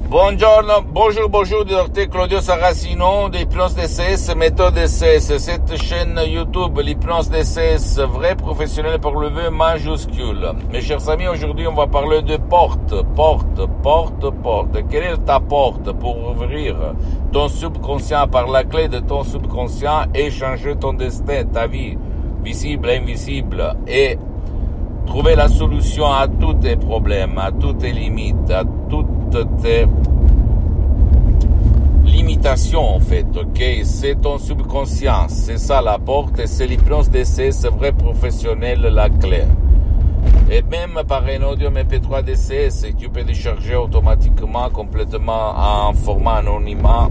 Bonjour, docteur Claudio Saracino d'Hypnose DCS, méthode DCS. Cette chaîne YouTube, l'Hypnose DCS, vrai professionnel pour le V majuscule. Mes chers amis, aujourd'hui on va parler de porte. Quelle est ta porte pour ouvrir ton subconscient par la clé de ton subconscient et changer ton destin, ta vie, visible, invisible, et trouver la solution à tous tes problèmes, à toutes tes limites, à toutes tes limitations en fait, ok? C'est ton subconscient, c'est ça la porte, et c'est l'hypnose DC, c'est vrai professionnel la clé. Et même par un audio MP3 DCS, tu peux décharger automatiquement, complètement en format anonymat,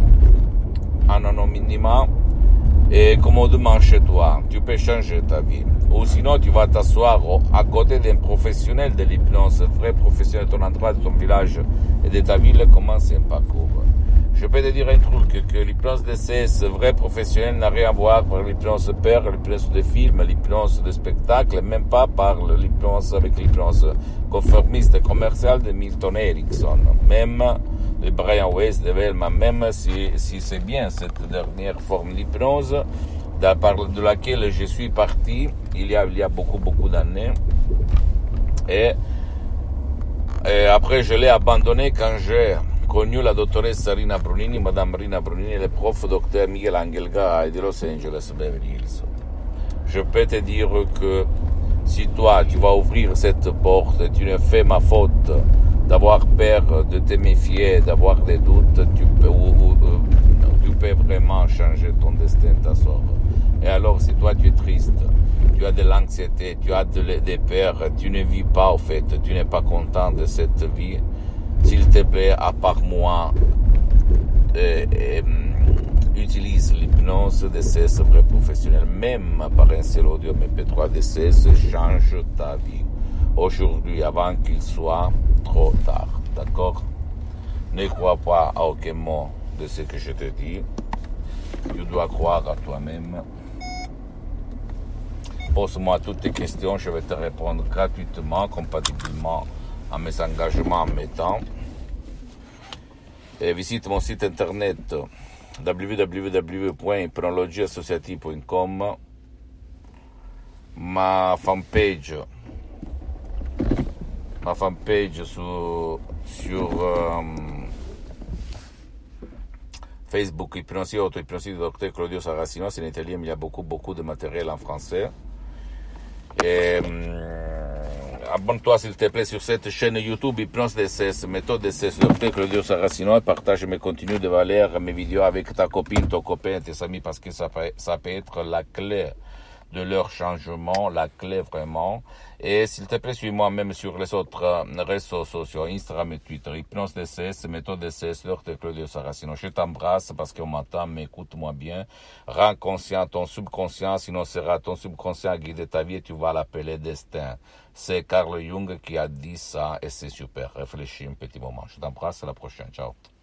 et commodement chez toi. Tu peux changer ta vie. Ou sinon, tu vas t'asseoir à côté d'un professionnel de l'hypnose, vrai professionnel de ton endroit, de ton village et de ta ville, commence un parcours. Je peux te dire un truc, que l'hypnose DCS, vrai professionnel, n'a rien à voir avec l'hypnose père, l'hypnose de film, l'hypnose de spectacle, même pas par l'hypnose avec l'hypnose conformiste et commerciale de Milton Erickson, même de Brian Weiss, de Velma, même si c'est bien cette dernière forme d'hypnose, de laquelle je suis parti il y a beaucoup d'années, et après je l'ai abandonné quand j'ai connu la dottoressa Rina Brunini, Madame Rina Brunini, et le prof docteur Miguel Angel Gay de Los Angeles, Beverly Hills. Je peux te dire que si toi tu vas ouvrir cette porte, tu ne fais ma faute d'avoir peur, de te méfier, d'avoir des doutes, tu peux vraiment changer ton destin, ta sort. Et alors, si toi tu es triste, tu as de l'anxiété, tu as des peurs, tu ne vis pas au fait, tu n'es pas content de cette vie, s'il te plaît, à part moi, utilise l'hypnose DCS vrai professionnel, même par un seul audio MP3 DCS, change ta vie aujourd'hui avant qu'il soit trop tard, d'accord? Ne crois pas à aucun mot de ce que je te dis, tu dois croire à toi-même. Pose-moi toutes tes questions, je vais te répondre gratuitement, compatiblement à mes engagements en mes temps. Et visite mon site internet www.hypnologieassociative.com, ma fanpage sur Facebook, Hypnosie Auto-Hypnosie du docteur Claudio Saracino, c'est en italien, mais il y a beaucoup de matériel en français. Et abonne-toi s'il te plaît sur cette chaîne YouTube Hypnose DCS, méthode DCS, docteur Claudio Saracino, et partage mes contenus de valeur, mes vidéos avec ta copine, ton copain, tes amis, parce que ça peut être la clé de leur changement, la clé vraiment. Et s'il te plaît, suis-moi même sur les autres réseaux sociaux, Instagram et Twitter, Hypnose DCS, méthode DCS, docteur Claudio Saracino. Je t'embrasse parce qu'on m'entend, mais écoute-moi bien. Rends conscient ton subconscient, sinon sera ton subconscient à guider ta vie et tu vas l'appeler destin. C'est Carl Jung qui a dit ça et c'est super. Réfléchis un petit moment. Je t'embrasse, à la prochaine. Ciao.